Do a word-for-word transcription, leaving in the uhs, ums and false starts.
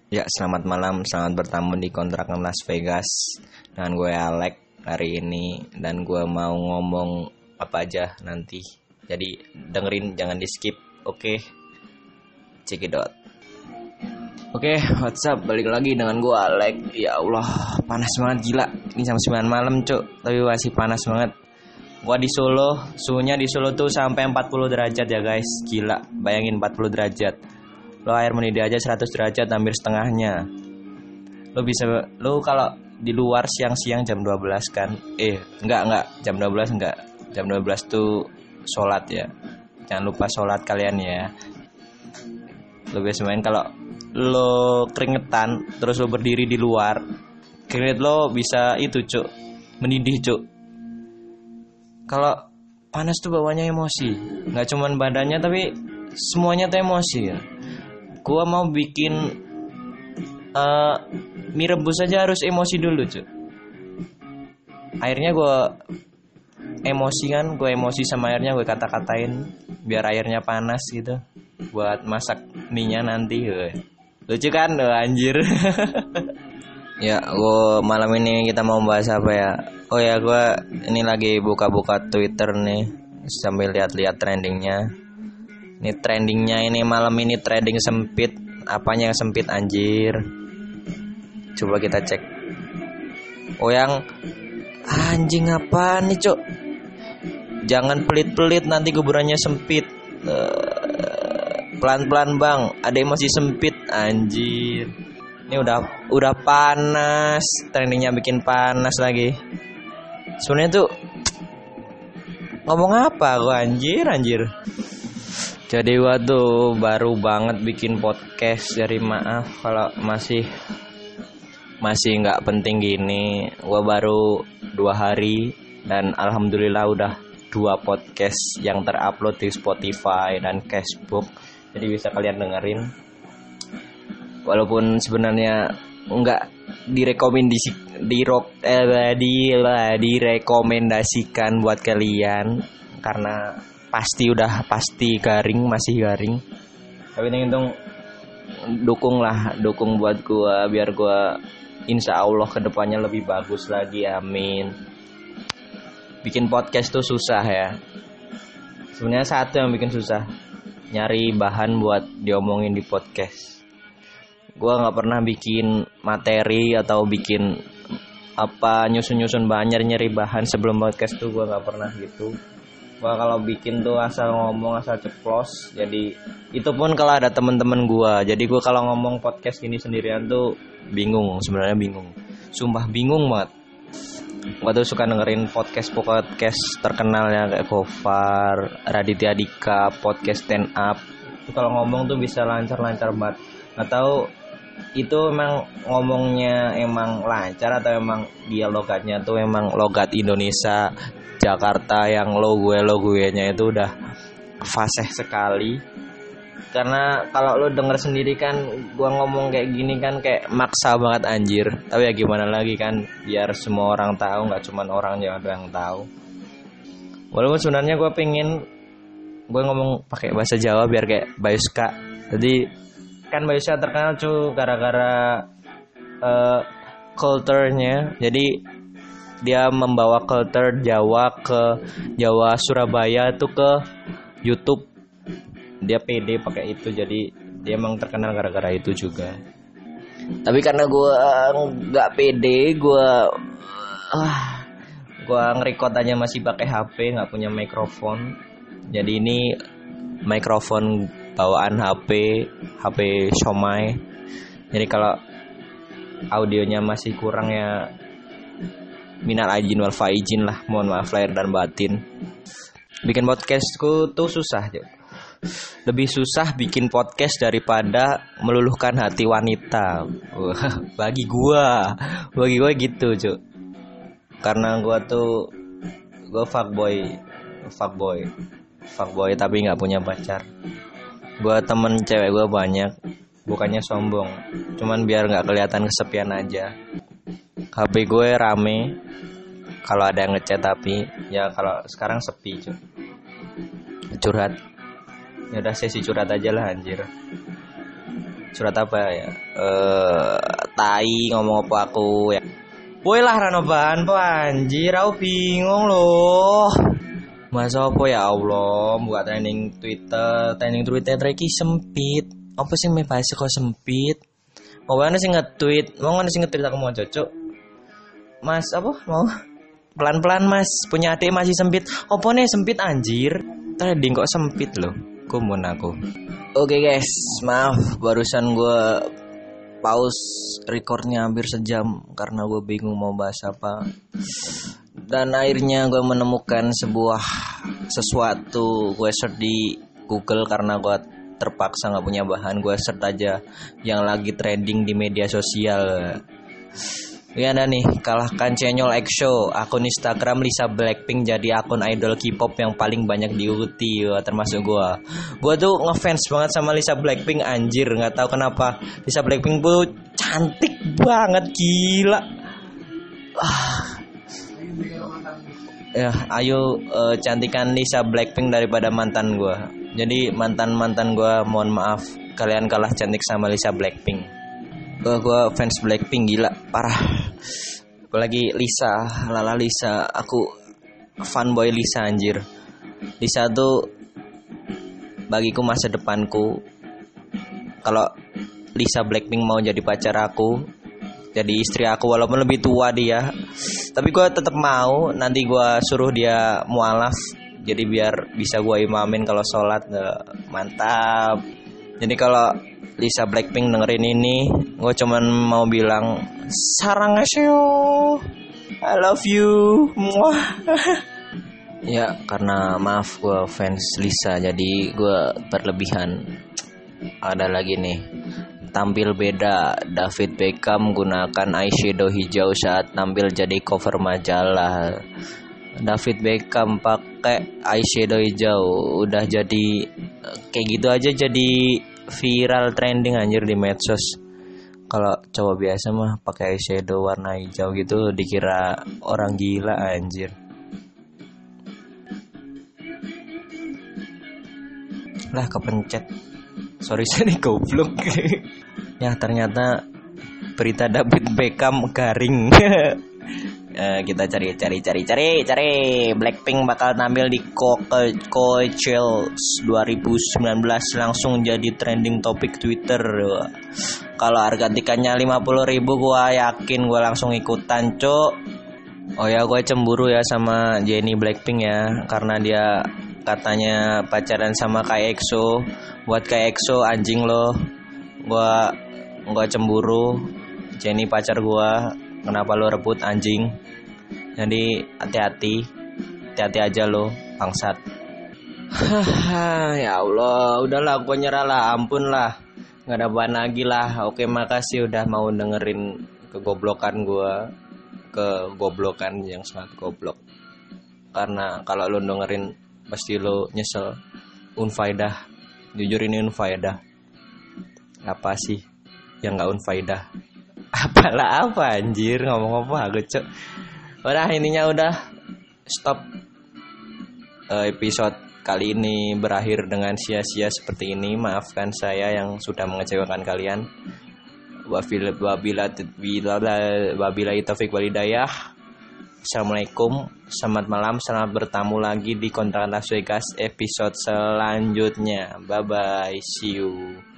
Ya, selamat malam, selamat bertamu di kontrakan Las Vegas dengan gue Alek hari ini. Dan gue mau ngomong apa aja nanti. Jadi dengerin, jangan di skip. Oke, check it out. Oke, what's up, balik lagi dengan gue Alek. Ya Allah, panas banget gila. Ini jam sembilan malam cuk, tapi masih panas banget. Gue di Solo, suhunya di Solo tuh sampai empat puluh derajat ya guys. Gila, bayangin empat puluh derajat. Lo air mendidih aja seratus derajat, hampir setengahnya. Lo bisa, lo kalau di luar siang-siang jam dua belas kan. Eh, enggak, enggak, jam dua belas enggak. Jam dua belas tuh sholat ya. Jangan lupa sholat kalian ya. Lo biasa main kalau lo keringetan, terus lo berdiri di luar, keringet lo bisa itu cuk, mendidih cuk. Kalau panas tuh bawanya emosi. Enggak cuman badannya tapi semuanya tuh emosi ya. Gua mau bikin uh, mie rebus aja harus emosi dulu cuy. Airnya gue emosi kan, gue emosi sama airnya, gue kata-katain biar airnya panas gitu buat masak mie-nya nanti. Lucu kan, oh, anjir. Ya, gue malam ini kita mau bahas apa ya? Oh ya, gue ini lagi buka-buka Twitter nih sambil lihat-lihat trendingnya. Ini trendingnya ini malam ini trending sempit. Apanya yang sempit anjir? Coba kita cek. Oh yang anjing apa nih cok? Jangan pelit-pelit nanti kuburannya sempit. Pelan-pelan bang, ada emosi sempit anjir. Ini udah udah panas, trendingnya bikin panas lagi. Sebenarnya tuh ngomong apa gua anjir anjir. Jadi gua tuh baru banget bikin podcast. Jadi maaf kalau masih masih nggak penting gini. Gua baru dua hari dan alhamdulillah udah dua podcast yang terupload di Spotify dan Castbox. Jadi bisa kalian dengerin. Walaupun sebenarnya nggak direkomendasi dirok eh, di direkomendasikan buat kalian karena pasti udah pasti garing, masih garing. Tapi ini untung dukung lah, dukung buat gua biar gua insya Allah kedepannya lebih bagus lagi, amin. Bikin podcast tuh susah ya. Sebenarnya satu yang bikin susah, nyari bahan buat diomongin di podcast. Gua nggak pernah bikin materi atau bikin apa nyusun-nyusun bahan, nyari-nyari bahan sebelum podcast tuh gua nggak pernah gitu. Gua kalau bikin tuh asal ngomong, asal ceplos. Jadi itu pun kalau ada temen-temen gua. Jadi gua kalau ngomong podcast ini sendirian tuh bingung, sebenarnya bingung. Sumpah bingung banget. Gua tuh suka dengerin podcast-podcast terkenal ya kayak Gofar, Raditya Dika, podcast stand up. Itu kalau ngomong tuh bisa lancar-lancar banget. Nggak tahu itu emang ngomongnya emang lancar atau emang dia logatnya tuh emang logat Indonesia Jakarta yang lo gue lo gue nya itu udah fasih sekali. Karena kalau lo denger sendiri kan gua ngomong kayak gini kan kayak maksa banget anjir. Tapi ya gimana lagi kan, biar semua orang tahu, nggak cuman orang Jawa yang tahu. Walaupun sebenarnya gua pengen gue ngomong pakai bahasa Jawa biar kayak Bayuska. Jadi kan Bayuska terkenal cuy gara-gara uh, culture-nya. Jadi dia membawa culture Jawa ke Jawa Surabaya tuh ke YouTube. Dia pede pakai itu, jadi dia emang terkenal gara-gara itu juga. Tapi karena gue nggak pede, gue ah gue ngerekord aja masih pakai H P, nggak punya mikrofon. Jadi ini mikrofon bawaan H P, H P Xiaomi. Jadi kalau audionya masih kurang ya minal aijin wal faizin lah, mohon maaf lahir dan batin. Bikin podcastku tuh susah aja. Lebih susah bikin podcast daripada meluluhkan hati wanita. Bagi gua, bagi gua gitu cuy. Karena gua tuh gua fuckboy, fuckboy, fuckboy tapi nggak punya pacar. Gua temen cewek gua banyak, bukannya sombong, cuman biar nggak kelihatan kesepian aja. H P gue rame kalau ada yang ngechat, tapi ya kalau sekarang sepi cuy. Curhat. Ya udah sesi curhat aja lah anjir. Surat apa ya? Eh, tai ngomong apa aku ya. Woi lah Ranoban po anjir, aku bingung loh. Masa apa ya Allah, buat trending Twitter, trending Twitter lagi sempit. Apa sih me bahasa kok sempit? Mau mana sih nge-tweet? Mau mana sih nge-tweet aku mau cocok? Mas apa? Mau pelan-pelan Mas, punya adik masih sempit. Apa nih sempit anjir? Trending kok sempit loh. Kumun aku. Oke guys, maaf barusan gue pause recordnya hampir sejam karena gue bingung mau bahas apa. Dan akhirnya gue menemukan sebuah sesuatu. Gue search di Google karena gue terpaksa nggak punya bahan. Gue search aja yang lagi trending di media sosial. Ya ada nih, kalahkan Chenyol EXO, akun Instagram Lisa Blackpink jadi akun idol K-pop yang paling banyak diikuti, wah, termasuk gua. Gua tuh ngefans banget sama Lisa Blackpink anjir, nggak tahu kenapa. Lisa Blackpink tuh cantik banget, gila. Ah. Ya, ayo uh, cantikan Lisa Blackpink daripada mantan gua. Jadi mantan-mantan gua mohon maaf, kalian kalah cantik sama Lisa Blackpink. Gue gue fans Blackpink gila parah. Gue lagi Lisa, lala Lisa, aku fanboy Lisa anjir. Lisa tuh bagiku masa depanku. Kalau Lisa Blackpink mau jadi pacar aku, jadi istri aku walaupun lebih tua dia, tapi gue tetap mau. Nanti gue suruh dia mualaf, jadi biar bisa gue imamin kalau sholat. Mantap. Jadi kalau Lisa Blackpink dengerin ini, gue cuman mau bilang saranghaseyo, I love you, muah. Ya karena maaf gue fans Lisa, jadi gue berlebihan. Ada lagi nih, tampil beda, David Beckham gunakan eyeshadow hijau saat tampil jadi cover majalah. David Beckham pakai eyeshadow hijau, udah jadi kayak gitu aja jadi viral trending anjir di medsos. Kalau cowok biasa mah pakai eyeshadow warna hijau gitu dikira orang gila anjir. Lah kepencet. Sorry sorry goblok. Ya ternyata berita David Beckham garing. Uh, kita cari cari cari cari cari Blackpink bakal tampil di Coachella dua ribu sembilan belas, langsung jadi trending topik Twitter. Kalau harga tiketnya lima puluh ribu gua yakin gua langsung ikutan cuk. Oh ya gue cemburu ya sama Jennie Blackpink ya, karena dia katanya pacaran sama Kai EXO. Buat Kai EXO anjing lo, gua gua cemburu. Jennie pacar gua, kenapa lo rebut anjing? Jadi hati-hati, hati-hati aja lo, bangsat. Ya Allah, udahlah, gue nyerah lah, ampun lah, nggak ada bahan lagi lah. Oke, makasih udah mau dengerin kegoblokan gue, kegoblokan yang sangat goblok. Karena kalau lo dengerin pasti lo nyesel, unfaedah. Jujur ini unfaedah. Apa sih yang nggak unfaedah? Apalah apa anjir, ngomong apa aku cok. Udah intinya udah stop. uh, Episode kali ini berakhir dengan sia-sia seperti ini. Maafkan saya yang sudah mengecewakan kalian. Wabila wabila wabila taufik walhidayah. Assalamualaikum, selamat malam, selamat bertamu lagi di Kontrakan Las Vegas episode selanjutnya. Bye bye, see you.